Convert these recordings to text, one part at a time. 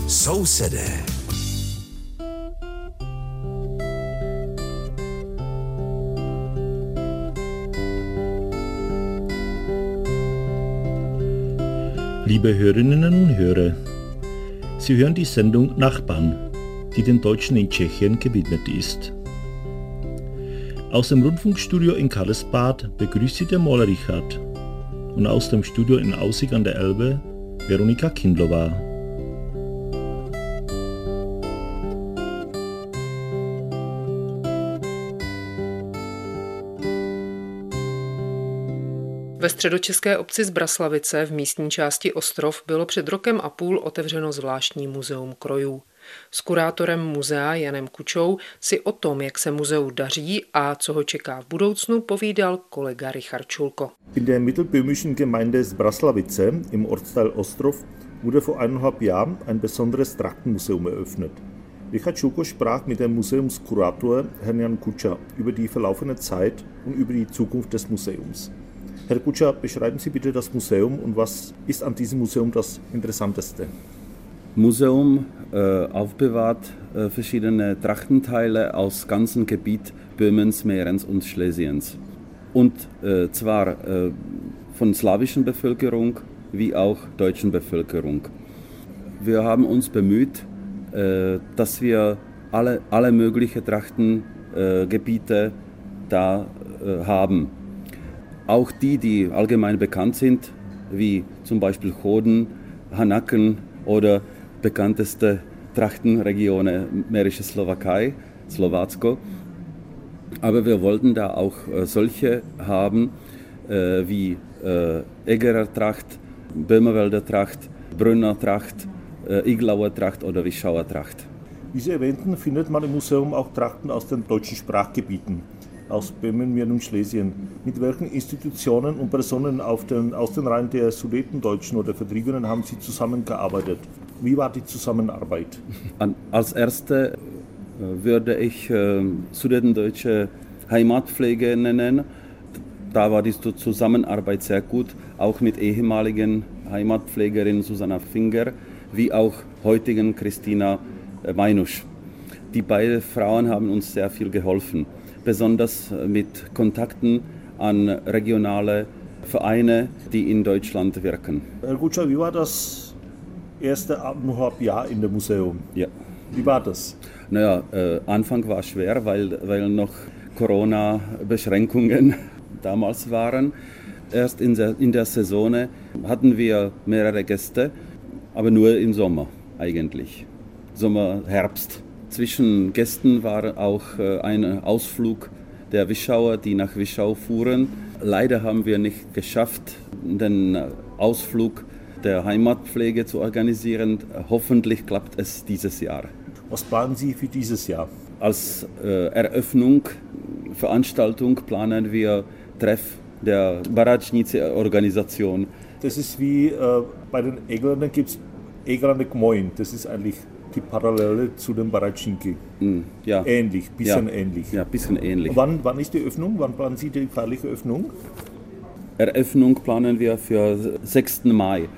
Sousedé. Liebe Hörerinnen und Hörer, Sie hören die Sendung Nachbarn, die den Deutschen in Tschechien gewidmet ist. Aus dem Rundfunkstudio in Karlsbad begrüßt Sie der Maler Richard und aus dem Studio in Aussig an der Elbe Veronika Kindlova. Ve středočeské obci Zbraslavice v místní části Ostrov bylo před rokem a půl otevřeno zvláštní muzeum krojů. S kurátorem muzea Janem Kučou si o tom, jak se muzeu daří a co ho čeká v budoucnu, povídal kolega Richard Schulko. In der mittelböhmischen Gemeinde Zbraslavice im Ortsteil Ostrov wurde vor 1,5 Jahren ein besonderes Trachtenmuseum eröffnet. Richard Schulko sprach mit dem Museumskurator Herrn Jan Kuča über die verlaufene Zeit und über die Zukunft des Museums. Herr Kuča, beschreiben Sie bitte das Museum und was ist an diesem Museum das Interessanteste? Museum aufbewahrt verschiedene Trachtenteile aus ganzem Gebiet Böhmens, Mährens und Schlesiens. Und zwar von slawischen Bevölkerung wie auch deutschen Bevölkerung. Wir haben uns bemüht, dass wir alle möglichen Trachtengebiete da haben. Auch die allgemein bekannt sind, wie zum Beispiel Choden, Hanaken oder bekannteste Trachtenregionen Mährische Slowakei, Slowacko. Aber wir wollten da auch solche haben wie Egerer Tracht, Böhmerwälder Tracht, Brünner Tracht, Iglauer Tracht oder Wischauer Tracht. Wie Sie erwähnten, findet man im Museum auch Trachten aus den deutschen Sprachgebieten, aus Böhmen, Mähren und Schlesien. Mit welchen Institutionen und Personen aus den Reihen der Sudetendeutschen oder Vertriebenen haben Sie zusammengearbeitet? Wie war die Zusammenarbeit? Als erste würde ich Sudetendeutsche Heimatpflege nennen. Da war die Zusammenarbeit sehr gut, auch mit ehemaligen Heimatpflegerin Susanna Finger, wie auch heutigen Christina Meinusch. Die beiden Frauen haben uns sehr viel geholfen, besonders mit Kontakten an regionale Vereine, die in Deutschland wirken. Herr Kuča, wie war das erste 1,5 Jahr in dem Museum? Ja. Wie war das? Naja, Anfang war schwer, weil noch Corona-Beschränkungen damals waren. Erst in der Saison hatten wir mehrere Gäste, aber nur im Sommer eigentlich. Sommer, Herbst. Zwischen Gästen war auch ein Ausflug der Wischauer, die nach Wischau fuhren. Leider haben wir nicht geschafft, den Ausflug der Heimatpflege zu organisieren. Hoffentlich klappt es dieses Jahr. Was planen Sie für dieses Jahr? Als Veranstaltung planen wir Treff der Baratschnice-Organisation. Das ist wie bei den Egländern gibt es Eglane Gmoin. Das ist eigentlich die Parallele zu den Baratschniki. Ja. Ähnlich, bisschen ähnlich. Ja, bisschen ähnlich. Wann ist die Öffnung? Wann planen Sie die feierliche Öffnung? Eröffnung planen wir für 6. Mai.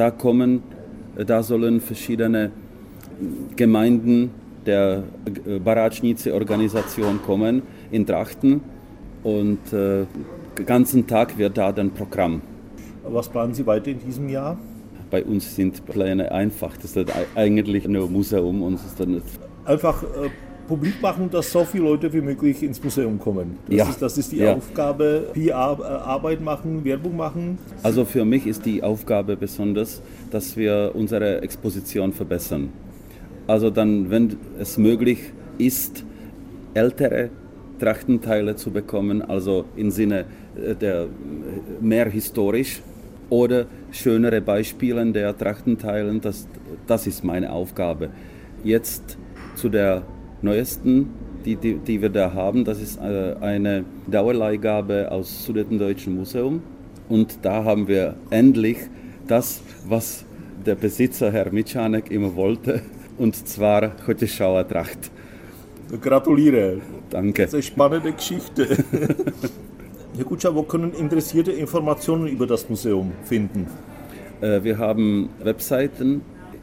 Da sollen verschiedene Gemeinden der Baratschnice-Organisation kommen in Trachten und den ganzen Tag wird da dann Programm. Was planen Sie weiter in diesem Jahr? Bei uns sind Pläne einfach. Das ist eigentlich nur ein Museum. Und ist dann einfach publik machen, dass so viele Leute wie möglich ins Museum kommen. Das ist die Aufgabe. PR-Arbeit machen, Werbung machen. Also für mich ist die Aufgabe besonders, dass wir unsere Exposition verbessern. Also dann, wenn es möglich ist, ältere Trachtenteile zu bekommen, also im Sinne der mehr historisch, oder schönere Beispiele der Trachtenteilen, das ist meine Aufgabe. Jetzt zu der neuesten, die wir da haben, das ist eine Dauerleihgabe aus Sudetendeutschen Museum. Und da haben wir endlich das, was der Besitzer, Herr Mitschanek, immer wollte, und zwar Chotěšova Tracht. Gratuliere. Danke. Das ist eine spannende Geschichte. Herr Kuča, wo können Interessierte Informationen über das Museum finden? Wir haben Webseiten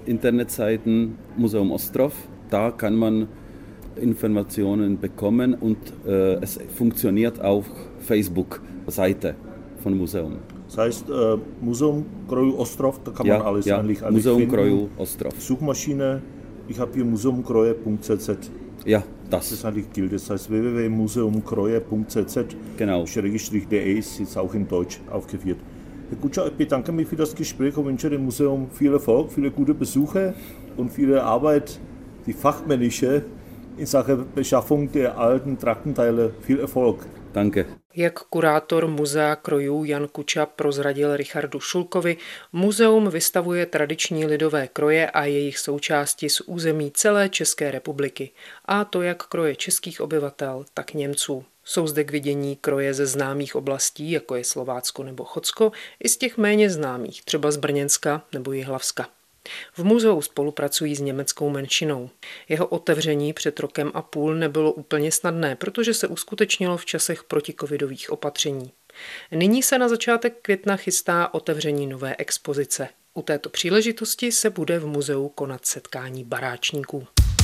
Internetseiten Museum Ostrov. Da kann man Informationen bekommen und es funktioniert auch Facebook-Seite von Museum. Das heißt, Museum Kroju Ostrov, da kann man alles eigentlich Museum finden. Kroju Ostrov. Suchmaschine, ich habe hier museumkroje.cz. Ja, das eigentlich gilt. Das heißt www.museumkroje.cz. Genau. _de ist jetzt auch in Deutsch aufgeführt. Herr Kutscher, ich bedanke mich für das Gespräch und wünsche dem Museum viel Erfolg, viele gute Besuche und viele Arbeit, die fachmännische, in Sachen Beschaffung der alten Traktenteile. Viel Erfolg. Danke. Jak kurátor Muzea krojů Jan Kuča prozradil Richardu Šulkovi, muzeum vystavuje tradiční lidové kroje a jejich součásti z území celé České republiky, a to jak kroje českých obyvatel, tak Němců. Jsou zde k vidění kroje ze známých oblastí, jako je Slovácko nebo Chotsko, i z těch méně známých, třeba z Brněnska nebo Jihlavska. V muzeu spolupracují s německou menšinou. Jeho otevření před rokem a půl nebylo úplně snadné, protože se uskutečnilo v časech protikovidových opatření. Nyní se na začátek května chystá otevření nové expozice. U této příležitosti se bude v muzeu konat setkání baráčníků.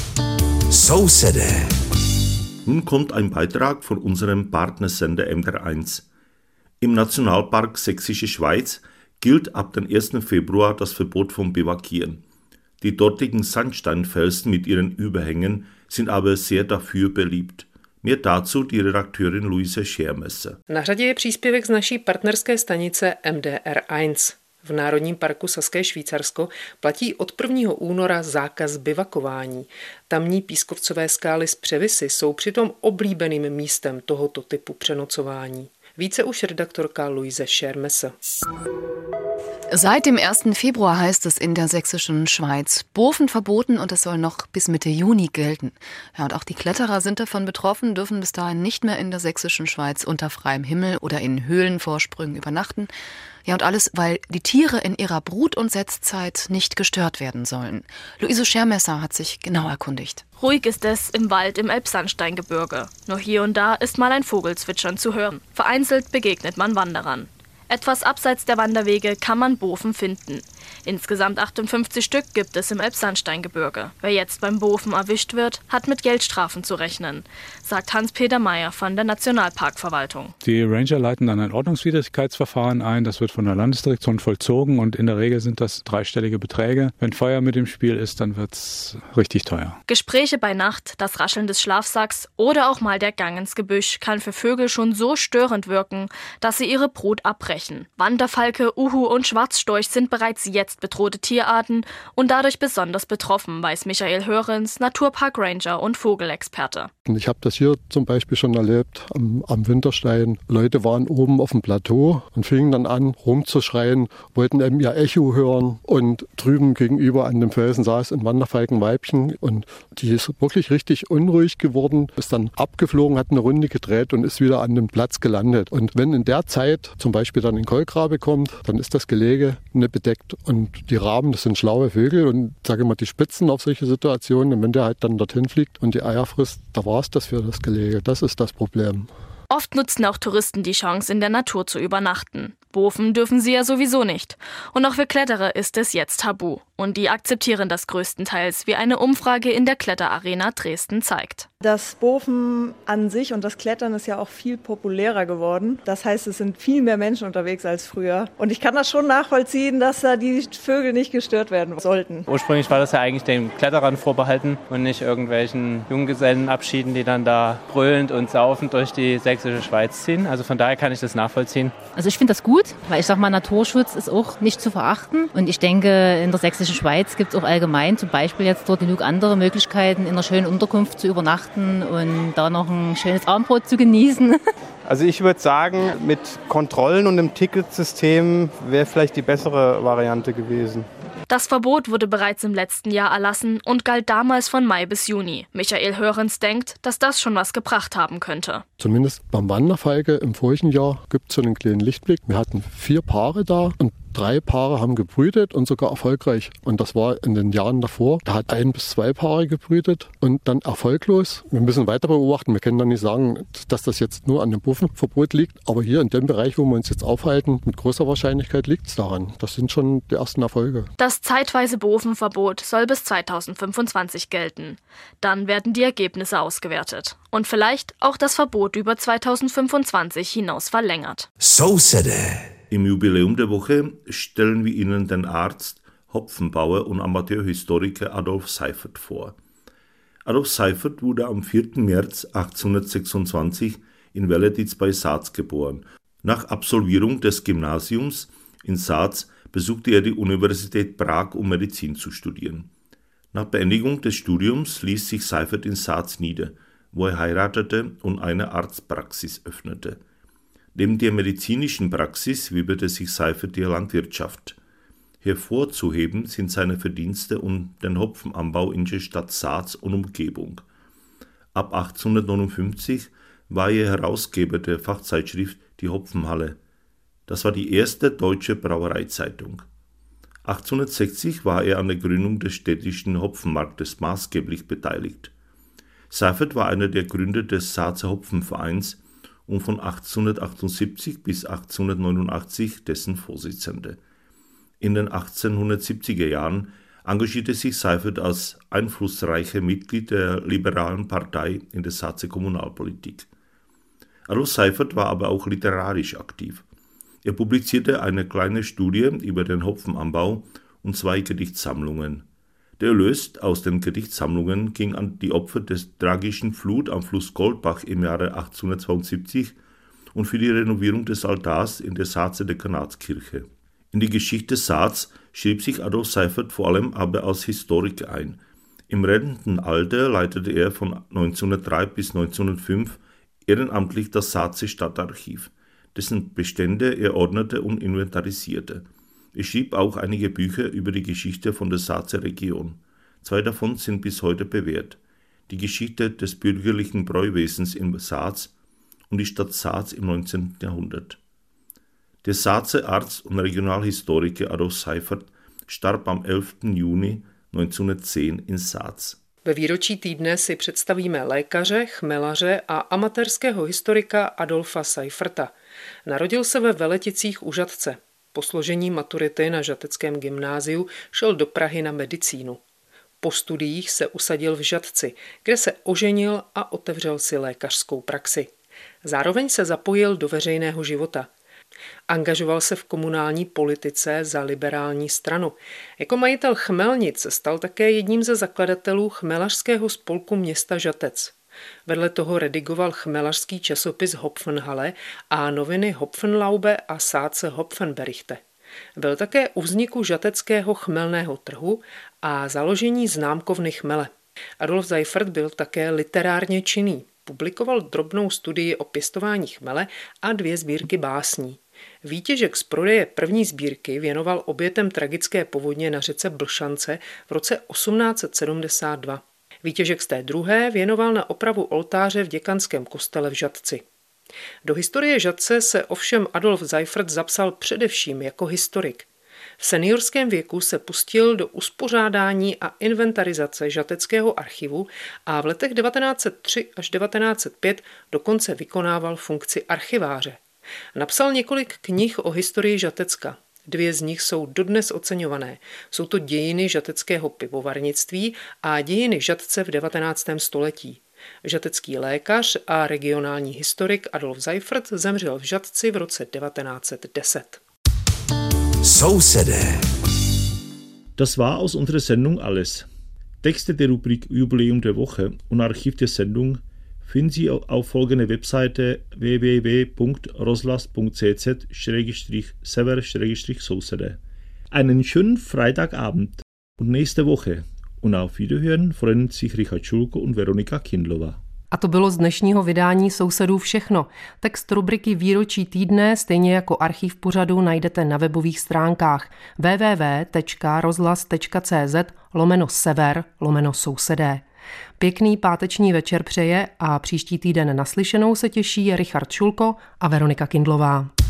Sousedé. Nun kommt ein Beitrag von unserem Partnersender MDR1. Im Nationalpark Sächsische Schweiz gilt ab dem 1. Februar das Verbot vom Biwakieren. Die dortigen Sandsteinfelsen mit ihren Überhängen sind aber sehr dafür beliebt. Mehr dazu die Redakteurin Luise Schermesser. Na řadě je příspěvek z naší partnerské stanice MDR1. V Národním parku Saské Švýcarsko platí od 1. února zákaz bivakování. Tamní pískovcové skály z převisy jsou přitom oblíbeným místem tohoto typu přenocování. Více už redaktorka Luise Schermesser. Seit dem 1. Februar heißt es in der sächsischen Schweiz, Bofen verboten und es soll noch bis Mitte Juni gelten. Ja, und auch die Kletterer sind davon betroffen, dürfen bis dahin nicht mehr in der sächsischen Schweiz unter freiem Himmel oder in Höhlenvorsprüngen übernachten. Ja, und alles, weil die Tiere in ihrer Brut- und Setzzeit nicht gestört werden sollen. Luise Schermesser hat sich genau erkundigt. Ruhig ist es im Wald im Elbsandsteingebirge. Nur hier und da ist mal ein Vogelzwitschern zu hören. Vereinzelt begegnet man Wanderern. Etwas abseits der Wanderwege kann man Bofen finden. Insgesamt 58 Stück gibt es im Elbsandsteingebirge. Wer jetzt beim Bofen erwischt wird, hat mit Geldstrafen zu rechnen, sagt Hans-Peter Meyer von der Nationalparkverwaltung. Die Ranger leiten dann ein Ordnungswidrigkeitsverfahren ein. Das wird von der Landesdirektion vollzogen und in der Regel sind das dreistellige Beträge. Wenn Feuer mit im Spiel ist, dann wird es richtig teuer. Gespräche bei Nacht, das Rascheln des Schlafsacks oder auch mal der Gang ins Gebüsch kann für Vögel schon so störend wirken, dass sie ihre Brut abbrechen. Wanderfalke, Uhu und Schwarzstorch sind bereits jetzt bedrohte Tierarten und dadurch besonders betroffen, weiß Michael Hörens, Naturpark-Ranger und Vogelexperte. Ich habe das hier zum Beispiel schon erlebt am Winterstein. Leute waren oben auf dem Plateau und fingen dann an rumzuschreien, wollten eben ihr Echo hören und drüben gegenüber an dem Felsen saß ein Wanderfalkenweibchen und die ist wirklich richtig unruhig geworden, ist dann abgeflogen, hat eine Runde gedreht und ist wieder an dem Platz gelandet. Und wenn in der Zeit zum Beispiel dann ein Kolkrabe kommt, dann ist das Gelege nicht bedeckt und die Raben, das sind schlaue Vögel und sage mal, die spitzen auf solche Situationen und wenn der halt dann dorthin fliegt und die Eier frisst, da war es das für das Gelege. Das ist das Problem. Oft nutzen auch Touristen die Chance, in der Natur zu übernachten. Bofen dürfen sie ja sowieso nicht. Und auch für Kletterer ist es jetzt tabu. Und die akzeptieren das größtenteils, wie eine Umfrage in der Kletterarena Dresden zeigt. Das Bofen an sich und das Klettern ist ja auch viel populärer geworden. Das heißt, es sind viel mehr Menschen unterwegs als früher. Und ich kann das schon nachvollziehen, dass da die Vögel nicht gestört werden sollten. Ursprünglich war das ja eigentlich den Kletterern vorbehalten und nicht irgendwelchen Junggesellenabschieden, die dann da brüllend und saufend durch die sächsische Schweiz ziehen. Also von daher kann ich das nachvollziehen. Also ich finde das gut, weil ich sag mal, Naturschutz ist auch nicht zu verachten. Und ich denke, in der sächsischen Schweiz gibt es auch allgemein zum Beispiel jetzt dort genug andere Möglichkeiten, in einer schönen Unterkunft zu übernachten und da noch ein schönes Abendbrot zu genießen. Also ich würde sagen, mit Kontrollen und einem Ticketsystem wäre vielleicht die bessere Variante gewesen. Das Verbot wurde bereits im letzten Jahr erlassen und galt damals von Mai bis Juni. Michael Hörens denkt, dass das schon was gebracht haben könnte. Zumindest beim Wanderfalke im vorigen Jahr gibt es so einen kleinen Lichtblick. Wir hatten 4 Paare da und 3 Paare haben gebrütet und sogar erfolgreich. Und das war in den Jahren davor. Da hat 1 bis 2 Paare gebrütet und dann erfolglos. Wir müssen weiter beobachten. Wir können dann nicht sagen, dass das jetzt nur an dem Bovenverbot liegt. Aber hier in dem Bereich, wo wir uns jetzt aufhalten, mit großer Wahrscheinlichkeit liegt es daran. Das sind schon die ersten Erfolge. Das zeitweise Bovenverbot soll bis 2025 gelten. Dann werden die Ergebnisse ausgewertet. Und vielleicht auch das Verbot über 2025 hinaus verlängert. So said Im Jubiläum der Woche stellen wir Ihnen den Arzt, Hopfenbauer und Amateurhistoriker Adolf Seiffert vor. Adolf Seiffert wurde am 4. März 1826 in Wellediz bei Saz geboren. Nach Absolvierung des Gymnasiums in Saz besuchte er die Universität Prag, um Medizin zu studieren. Nach Beendigung des Studiums ließ sich Seiffert in Saz nieder, wo er heiratete und eine Arztpraxis öffnete. Neben der medizinischen Praxis widmete sich Seiffert der Landwirtschaft. Hervorzuheben sind seine Verdienste um den Hopfenanbau in der Stadt Saz und Umgebung. Ab 1859 war er Herausgeber der Fachzeitschrift Die Hopfenhalle. Das war die erste deutsche Brauereizeitung. 1860 war er an der Gründung des städtischen Hopfenmarktes maßgeblich beteiligt. Seiffert war einer der Gründer des Sazer Hopfenvereins und von 1878 bis 1889 dessen Vorsitzender. In den 1870er Jahren engagierte sich Seiffert als einflussreicher Mitglied der Liberalen Partei in der Sazer Kommunalpolitik. Adolf Seiffert war aber auch literarisch aktiv. Er publizierte eine kleine Studie über den Hopfenanbau und 2 Gedichtsammlungen. Der Erlös aus den Gedichtsammlungen ging an die Opfer der tragischen Flut am Fluss Goldbach im Jahre 1872 und für die Renovierung des Altars in der Sazer Dekanatskirche. In die Geschichte Saz schrieb sich Adolf Seiffert vor allem aber als Historiker ein. Im Rentenalter leitete er von 1903 bis 1905 ehrenamtlich das Sazer Stadtarchiv, dessen Bestände er ordnete und inventarisierte. Er schrieb auch einige Bücher über die Geschichte von der Sazer Region. 2 davon sind bis heute bewährt: Die Geschichte des bürgerlichen Bräuwesens in Saz und die Stadt Saz im 19. Jahrhundert. Der Sazer Arzt und Regionalhistoriker Adolf Seiffert starb am 11. Juni 1910 in Saz. Ve výročí týdne si představíme lékaře, chmelaře a amatérského historika Adolfa Seifferta. Narodil se ve Veleticích u Žatce. Po složení maturity na žateckém gymnáziu šel do Prahy na medicínu. Po studiích se usadil v Žatci, kde se oženil a otevřel si lékařskou praxi. Zároveň se zapojil do veřejného života. Angažoval se v komunální politice za liberální stranu. Jako majitel chmelnic se stal také jedním ze zakladatelů chmelařského spolku města Žatec. Vedle toho redigoval chmelařský časopis Hopfenhalle a noviny Hopfenlaube a Sazer Hopfenberichte. Byl také u vzniku žateckého chmelného trhu a založení známkovny chmele. Adolf Seiffert byl také literárně činný. Publikoval drobnou studii o pěstování chmele a 2 sbírky básní. Výtěžek z prodeje první sbírky věnoval obětem tragické povodně na řece Blšance v roce 1872. Výtěžek z té druhé věnoval na opravu oltáře v děkanském kostele v Žatci. Do historie Žatce se ovšem Adolf Seiffert zapsal především jako historik. V seniorském věku se pustil do uspořádání a inventarizace žateckého archivu a v letech 1903 až 1905 dokonce vykonával funkci archiváře. Napsal několik knih o historii Žatecka. 2 z nich jsou dodnes oceňované. Jsou to Dějiny žateckého pivovarnictví a Dějiny Žatce v 19. století. Žatecký lékař a regionální historik Adolf Seiffert zemřel v Žatci v roce 1910. So said Das war aus unserer Sendung alles. Texte der Rubrik Jubiläum der Woche und Archiv der Sendung finden Sie auf folgender Webseite www.roslas.cz/sever/sousede. Einen schönen Freitagabend und nächste Woche. Und auf Wiederhören freuen sich Richard Schulko und Veronika Kindlová. A to bylo z dnešního vydání Sousedů všechno. Text rubriky Výročí týdne, stejně jako archiv pořadu, najdete na webových stránkách www.rozhlas.cz/sever/sousedé. Pěkný páteční večer přeje a příští týden naslyšenou se těší Richard Šulko a Veronika Kindlová.